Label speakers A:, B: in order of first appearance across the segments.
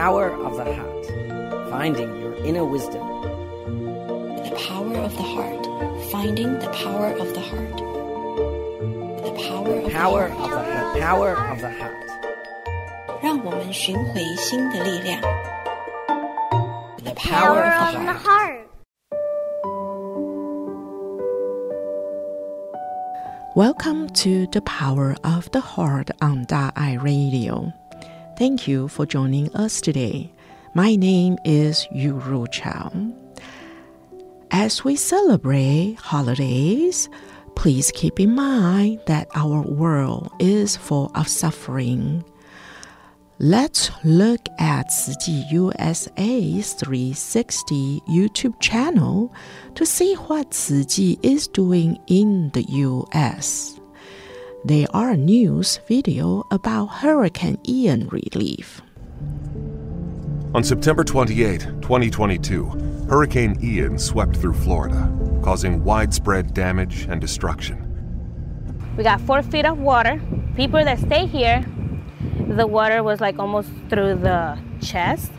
A: power of the heart. Finding your inner wisdom.
B: The power of the heart. Finding the power of the heart. The power of the heart.
A: The power of the heart.
B: 讓我們尋回心的力量。The
C: power of the heart.
D: Welcome to The Power of the Heart on Da'ai Radio. Thank you for joining us today. My name is Yu Chao. As we celebrate holidays, please keep in mind that our world is full of suffering. Let's look at Tzu Chi USA's 360 YouTube channel to see what Tzu Chi is doing in the U.S. There are news video about Hurricane Ian relief.
E: On September 28, 2022, Hurricane Ian swept through Florida, causing widespread damage and destruction.
C: We got 4 feet of water. People that stay here, the water was like almost through the chest.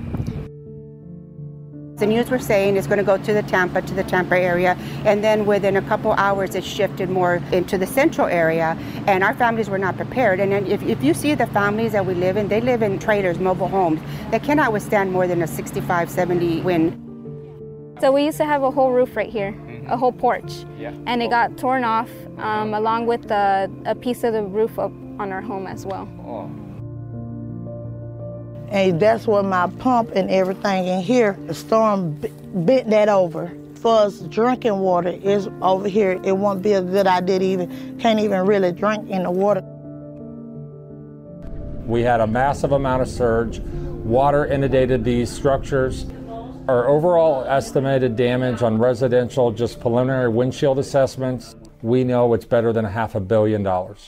F: The news were saying it's going to go to the Tampa area, and then within a couple hours it shifted more into the central area, and our families were not prepared. And then if you see the families that we live in, they live in trailers, mobile homes, that cannot withstand more than a 65, 70 wind.
G: So we used to have a whole roof right here, a whole porch, and it got torn off along with a piece of the roof up on our home as well.
H: And that's where my pump and everything in here, the storm bent that over. For us, drinking water is over here. It won't be a good idea can't even really drink in the water.
I: We had a massive amount of surge. Water inundated these structures. Our overall estimated damage on residential, just preliminary windshield assessments, we know it's better than $500 million.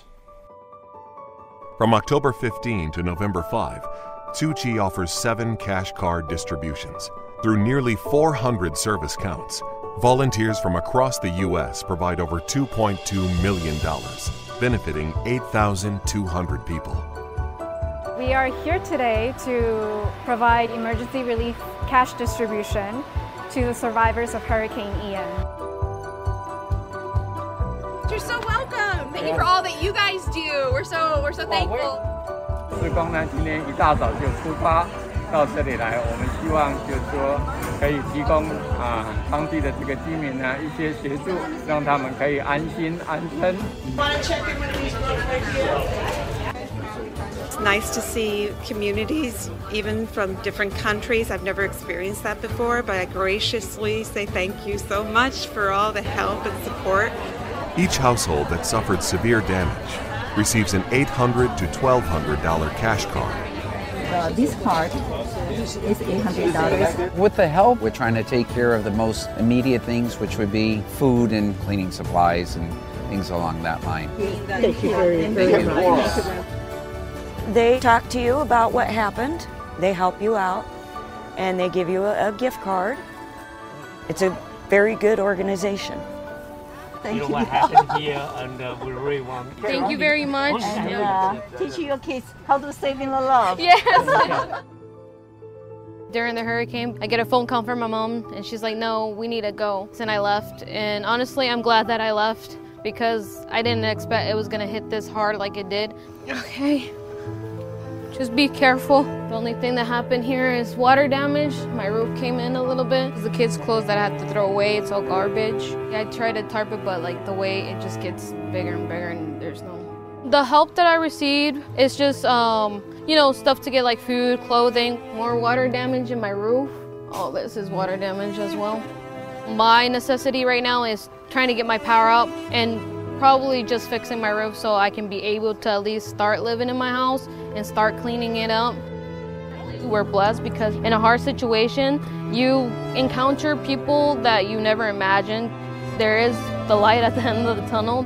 E: From October 15 to November 5, Tzu Chi offers 7 cash card distributions. Through nearly 400 service counts, volunteers from across the U.S. provide over $2.2 million, benefiting 8,200 people.
G: We are here today to provide emergency relief cash distribution to the survivors of Hurricane Ian.
J: You're so welcome. Thank you for all that you guys do. We're so thankful.
K: 志工呢，今天一大早就出发到这里来，我们希望就是說可以提供當地的這個居民呢一些協助，讓他們可以安心安身。
L: It's nice to see communities, even from different countries. I've never experienced that before, but I graciously say thank you so much for all the help and support.
E: Each household that suffered severe damage receives an $800 to $1,200 cash card.
M: This card is $800.
N: With the help, we're trying to take care of the most immediate things, which would be food and cleaning supplies and things along that line.
M: Thank you very much.
O: They talk to you about what happened, they help you out, and they give you a gift card. It's a very good organization.
M: Thank you.
P: What happened here, and we really want.
G: Thank you very much.
M: And teaching your kids how to save in the love.
G: Yes. During the hurricane, I get a phone call from my mom, and she's like, "No, we need to go." And I left. And honestly, I'm glad that I left because I didn't expect it was gonna hit this hard like it did. Okay. Just be careful. The only thing that happened here is water damage. My roof came in a little bit. The kids' clothes that I had to throw away, it's all garbage. I tried to tarp it, but like the way it just gets bigger and bigger and there's no... The help that I received is just, stuff to get like food, clothing, more water damage in my roof. All this is water damage as well. My necessity right now is trying to get my power up and probably just fixing my roof so I can be able to at least start living in my house and start cleaning it up. We're blessed because in a hard situation, you encounter people that you never imagined. There is the light at the end of the tunnel.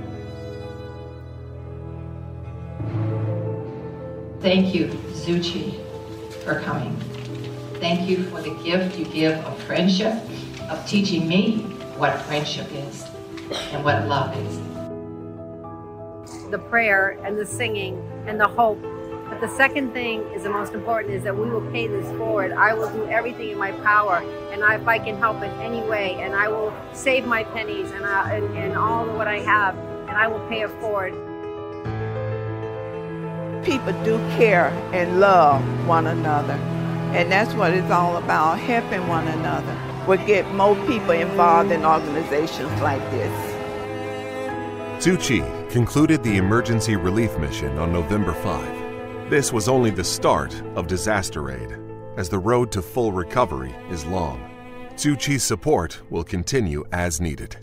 Q: Thank you, Tzu Chi, for coming. Thank you for the gift you give of friendship, of teaching me what friendship is and what love is.
R: The prayer and the singing and the hope But the second thing is the most important, is that we will pay this forward. I will do everything in my power, and if I can help in any way, and I will save my pennies and all of what I have, and I will pay it forward.
S: People do care and love one another, and that's what it's all about, helping one another. We'll get more people involved in organizations like this.
E: Tzu Chi concluded the emergency relief mission on November 5. This was only the start of disaster aid, as the road to full recovery is long. Tzu Chi's support will continue as needed.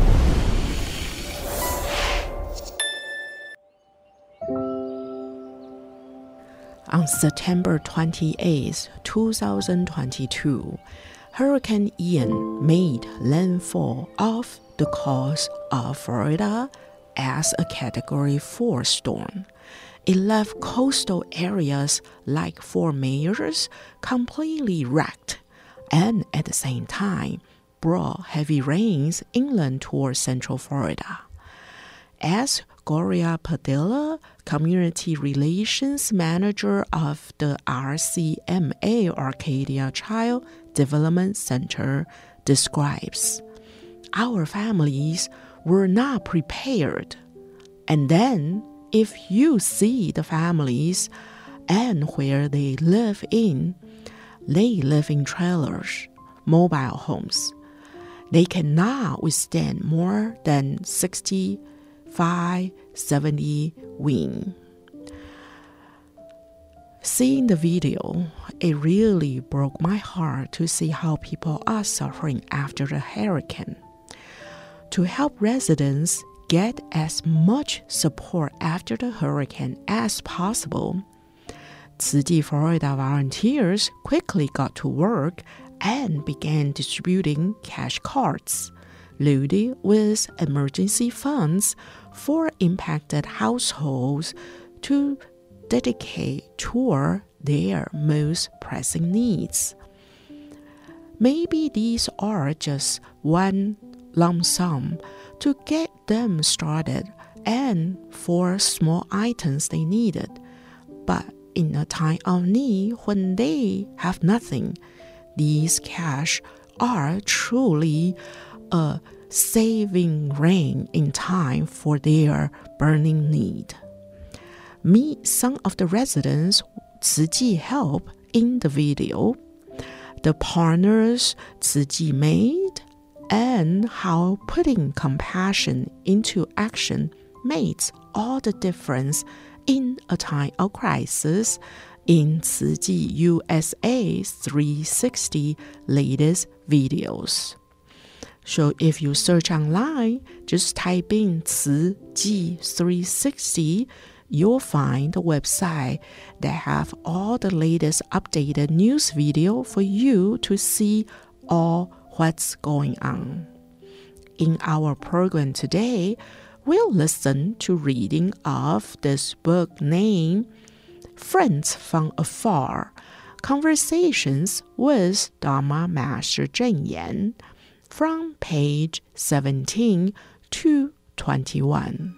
D: On September 28, 2022, Hurricane Ian made landfall off the coast of Florida as a Category 4 storm. It left coastal areas like Fort Myers completely wrecked, and at the same time brought heavy rains inland toward central Florida. As Gloria Padilla, Community Relations Manager of the RCMA Arcadia Child Development Center, describes, our families were not prepared. And then, if you see the families and where they live in trailers, mobile homes. They cannot withstand more than 65-70 wind. Seeing the video, it really broke my heart to see how people are suffering after the hurricane. To help residents get as much support after the hurricane as possible, Tzu Chi Florida volunteers quickly got to work and began distributing cash cards loaded with emergency funds for impacted households to dedicate toward their most pressing needs. Maybe these are just one lump sum to get them started and for small items they needed. But in a time of need when they have nothing, these cash are truly a saving rain in time for their burning need. Meet some of the residents Tzu Chi helped in the video, the partners Tzu Chi made, and how putting compassion into action makes all the difference in a time of crisis in Tzu Chi USA 360 latest videos. So if you search online, just type in Tzu Chi 360, you'll find the website that have all the latest updated news video for you to see all what's going on. In our program today, we'll listen to reading of this book named Friends from Afar, Conversations with Dharma Master Cheng Yen, from page 17 to 21.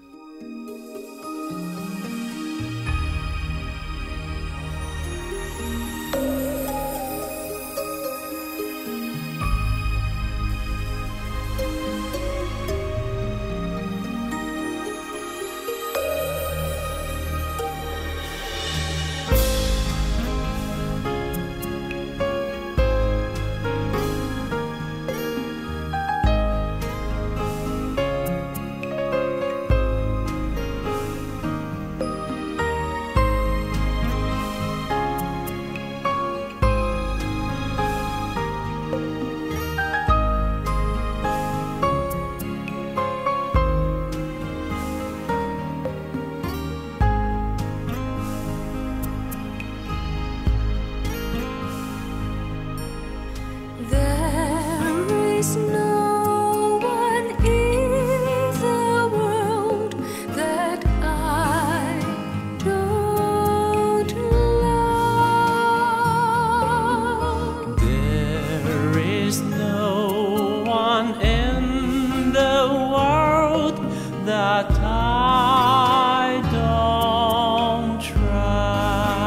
T: that I don't trust.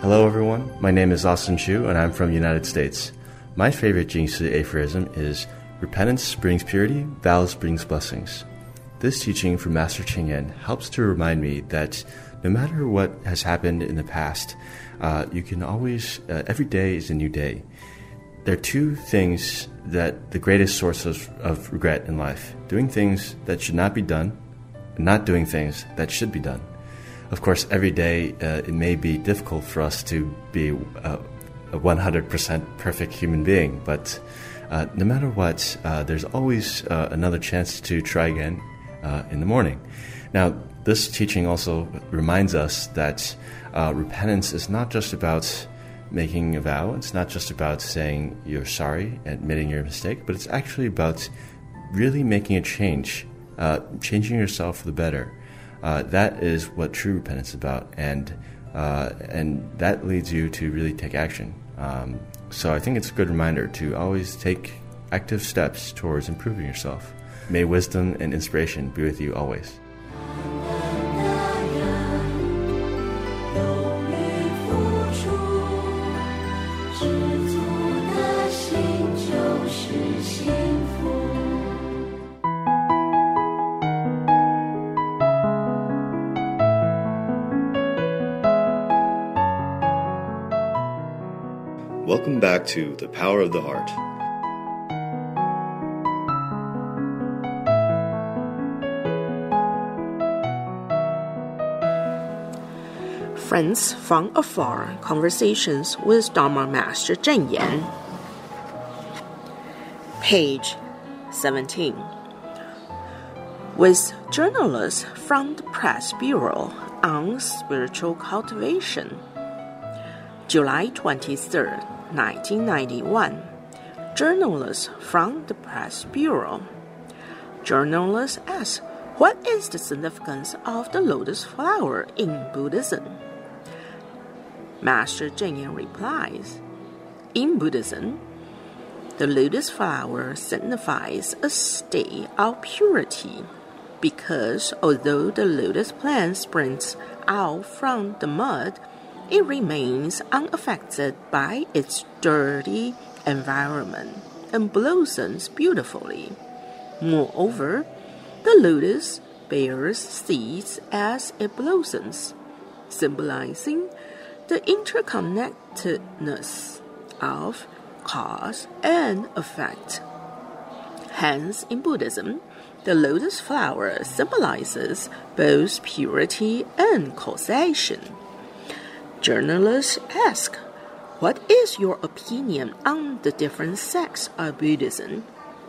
T: Hello everyone, my name is Austin Chu and I'm from the United States. My favorite Jingshi aphorism is, repentance brings purity, vows brings blessings. This teaching from Master Cheng Yen helps to remind me that no matter what has happened in the past, you can always, every day is a new day. There are two things that the greatest source of regret in life: doing things that should not be done, and not doing things that should be done. Of course, every day it may be difficult for us to be a 100% perfect human being, but no matter what, there's always another chance to try again in the morning. Now, this teaching also reminds us that repentance is not just about making a vow, it's not just about saying you're sorry, admitting your mistake, but it's actually about really making a change, changing yourself for the better. That is what true repentance is about, and that leads you to really take action. So I think it's a good reminder to always take active steps towards improving yourself. May wisdom and inspiration be with you always.
U: Welcome back to The Power of the Heart.
D: Friends from Afar, Conversations with Dharma Master Cheng Yen. Page 17. With journalists from the Press Bureau on Spiritual Cultivation. July 23, 1991. Journalists from the Press Bureau. Journalists ask, what is the significance of the lotus flower in Buddhism? Master Cheng Yen replies, in Buddhism, the lotus flower signifies a state of purity, because although the lotus plant springs out from the mud, it remains unaffected by its dirty environment and blossoms beautifully. Moreover, the lotus bears seeds as it blossoms, symbolizing the interconnectedness of cause and effect. Hence, in Buddhism, the lotus flower symbolizes both purity and causation. Journalists ask, what is your opinion on the different sects of Buddhism?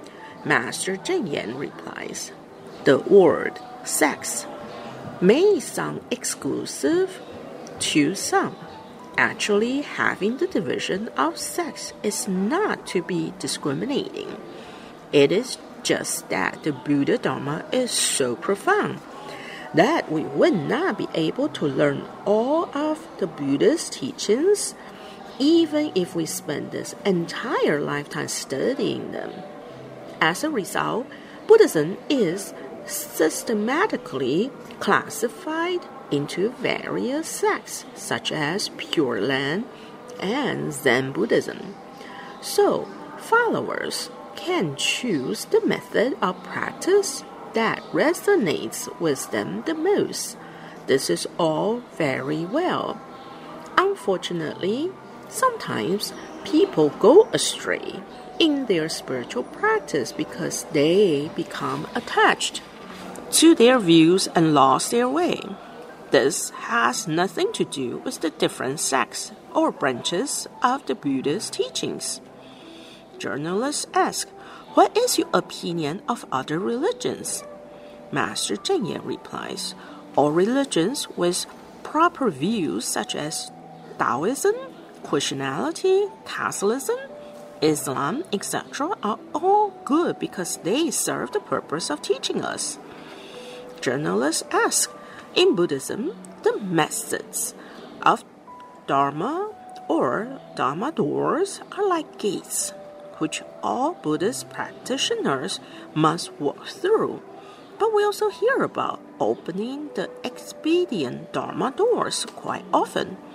D: Master Cheng Yen replies, the word sex may sound exclusive to some. Actually, having the division of sex is not to be discriminating. It is just that the Buddha Dharma is so profound that we would not be able to learn all of the Buddha's teachings, even if we spend this entire lifetime studying them. As a result, Buddhism is systematically classified into various sects, such as Pure Land and Zen Buddhism. So, followers can choose the method of practice that resonates with them the most. This is all very well. Unfortunately, sometimes people go astray in their spiritual practice because they become attached to their views and lost their way. This has nothing to do with the different sects or branches of the Buddha's teachings. Journalists ask, what is your opinion of other religions? Master Cheng Yen replies, all religions with proper views such as Taoism, Christianity, Catholicism, Islam, etc. are all good because they serve the purpose of teaching us. Journalists ask, in Buddhism, the methods of Dharma or Dharma doors are like gates, which all Buddhist practitioners must walk through. But we also hear about opening the expedient Dharma doors quite often.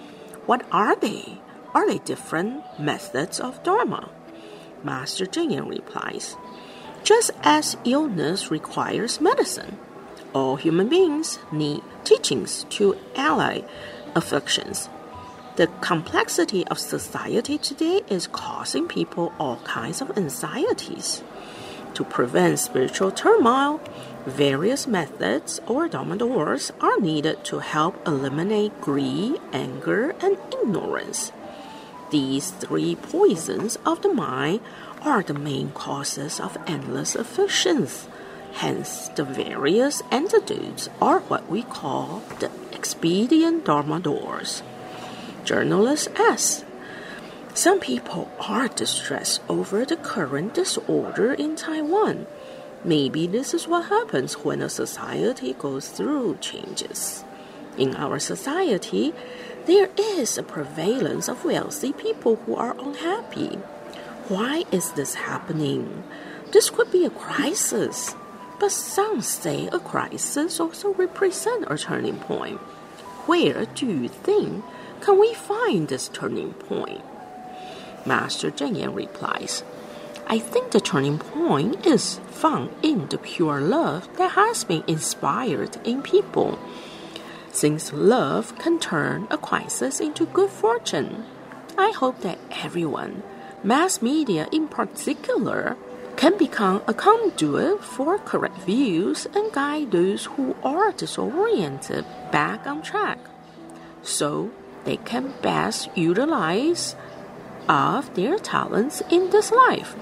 D: What are they? Are they different methods of Dharma? Master Cheng Yen replies, just as illness requires medicine, all human beings need teachings to allay afflictions. The complexity of society today is causing people all kinds of anxieties. To prevent spiritual turmoil, various methods or Dharma doors are needed to help eliminate greed, anger, and ignorance. These three poisons of the mind are the main causes of endless afflictions. Hence, the various antidotes are what we call the expedient Dharma doors. Journalist asks, some people are distressed over the current disorder in Taiwan. Maybe this is what happens when a society goes through changes. In our society, there is a prevalence of wealthy people who are unhappy. Why is this happening? This could be a crisis, but some say a crisis also represents a turning point. Where do you think can we find this turning point? Master Cheng Yen replies, I think the turning point is found in the pure love that has been inspired in people. Since love can turn a crisis into good fortune, I hope that everyone, mass media in particular, can become a conduit for correct views and guide those who are disoriented back on track, so they can best utilize of their talents in this life.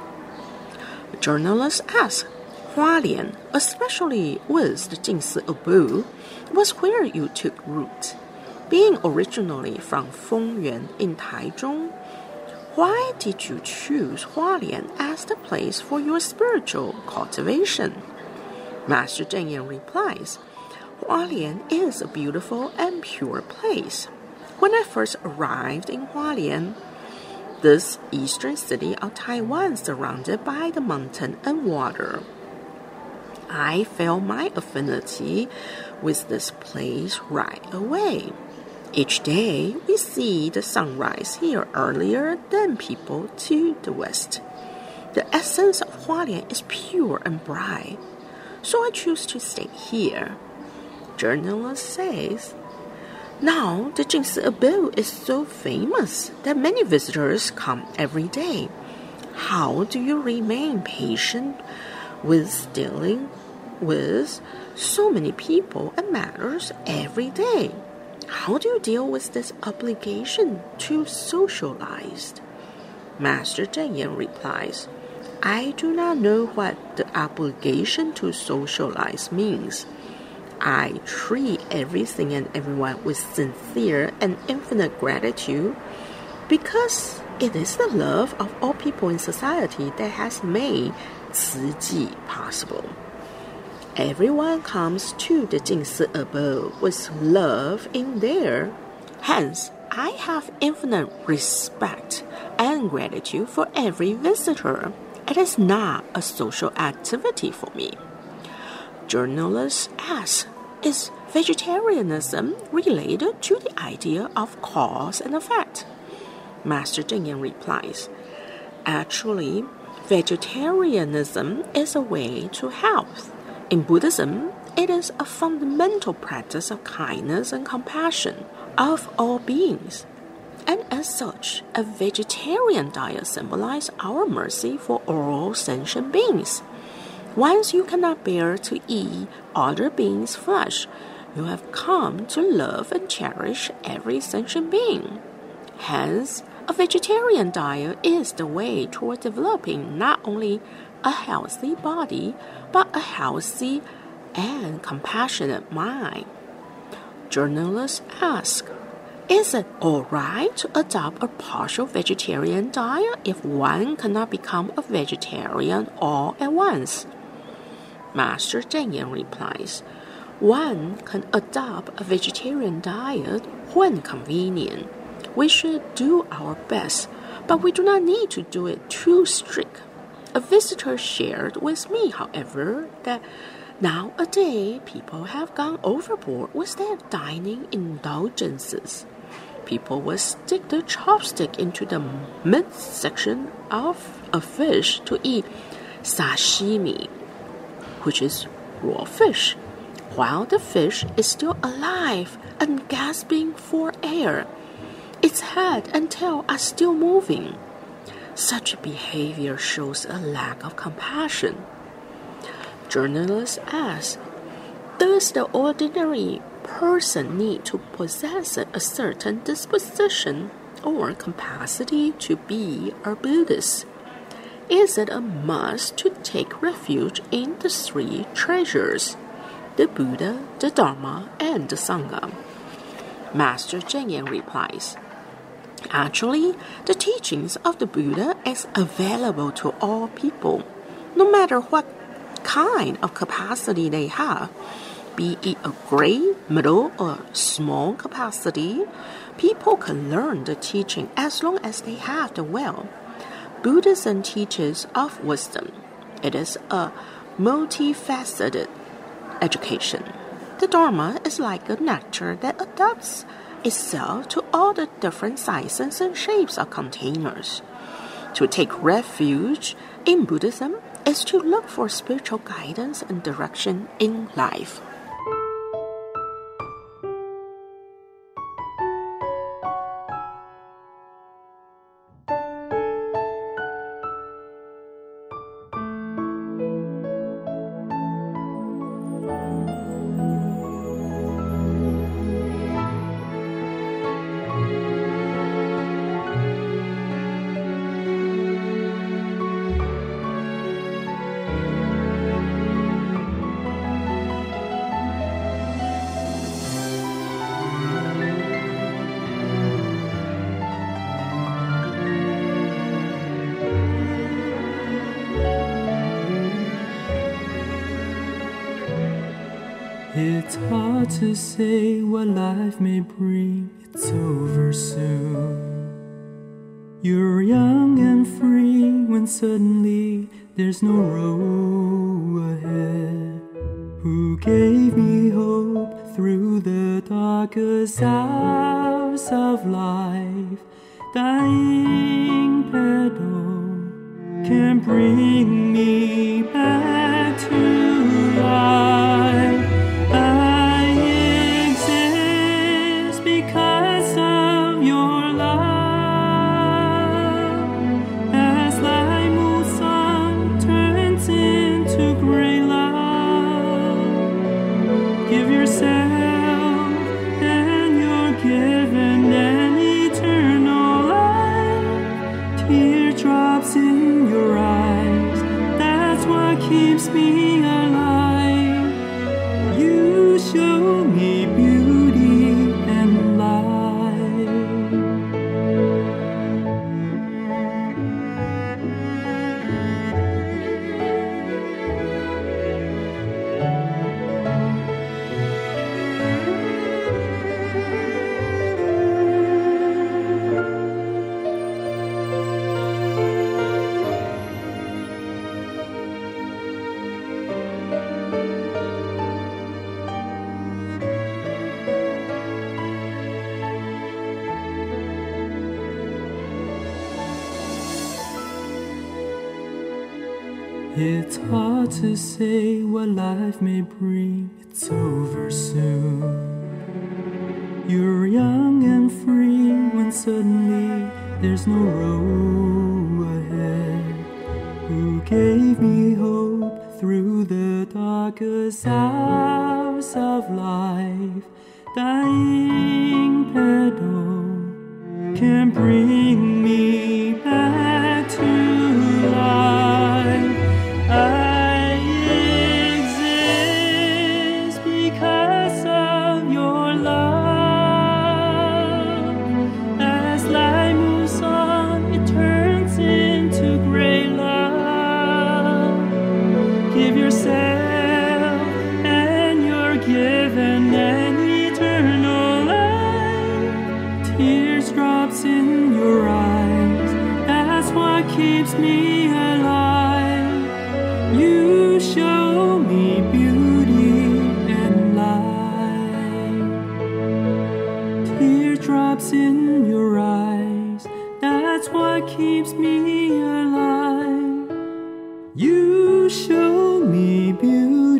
D: Journalists ask, Hualien, especially with the Jingsi abode, was where you took root. Being originally from Fongyuan in Taichung, why did you choose Hualien as the place for your spiritual cultivation? Master Cheng Yen replies, Hualien is a beautiful and pure place. When I first arrived in Hualien, this eastern city of Taiwan surrounded by the mountain and water, I felt my affinity with this place right away. Each day, we see the sunrise here earlier than people to the west. The essence of Hualien is pure and bright, so I choose to stay here. Journalist says, now the Jingsi abode is so famous that many visitors come every day. How do you remain patient with dealing with so many people and matters every day? How do you deal with this obligation to socialize? Master Cheng Yen replies, I do not know what the obligation to socialize means. I treat everything and everyone with sincere and infinite gratitude because it is the love of all people in society that has made Ci Ji possible. Everyone comes to the Jingsi abode with love in there. Hence, I have infinite respect and gratitude for every visitor. It is not a social activity for me. Journalists ask, is vegetarianism related to the idea of cause and effect? Master Cheng Yen replies, actually, vegetarianism is a way to health. In Buddhism, it is a fundamental practice of kindness and compassion of all beings. And as such, a vegetarian diet symbolizes our mercy for all sentient beings. Once you cannot bear to eat other beings' flesh, you have come to love and cherish every sentient being. Hence, a vegetarian diet is the way toward developing not only a healthy body, but a healthy and compassionate mind. Journalists ask, is it all right to adopt a partial vegetarian diet if one cannot become a vegetarian all at once? Master Cheng Yen replies, one can adopt a vegetarian diet when convenient. We should do our best, but we do not need to do it too strict. A visitor shared with me, however, that nowadays people have gone overboard with their dining indulgences. people would stick the chopstick into the midsection of a fish to eat sashimi, which is raw fish, while the fish is still alive and gasping for air. Its head and tail are still moving. Such behavior shows a lack of compassion. Journalists ask, does the ordinary person need to possess a certain disposition or capacity to be a Buddhist? Is it a must to take refuge in the three treasures, the Buddha, the Dharma, and the Sangha? Master Cheng Yen replies, actually, the teachings of the Buddha is available to all people, no matter what kind of capacity they have. Be it a great, middle, or small capacity, people can learn the teaching as long as they have the will. Buddhism teaches of wisdom. It is a multifaceted education. The Dharma is like a nectar that adapts itself to all the different sizes and shapes of containers. To take refuge in Buddhism is to look for spiritual guidance and direction in life.
A: It's hard to say what life may bring, it's over soon. You're young and free when suddenly there's no road ahead. Who gave me hope through the darkest hours of life? Dying petal can bring me back to life. I exist because of your love. As light moves on, turns into gray love. Give yourself, and you're given an eternal life. Teardrops in your eyes, that's what keeps me alive. You show me beauty and light. It's hard to say what life may bring, it's over soon. You're young and free when suddenly there's no road ahead. Who gave me hope through the darkest hours of life? Dying petal can bring me back to life. I exist because of your love. As light moves on, it turns into gray love. Give yourself, and you're given an eternal life. Teardrops in your eyes, that's what keeps me alive. You show me beauty and light. Teardrops in show me beauty.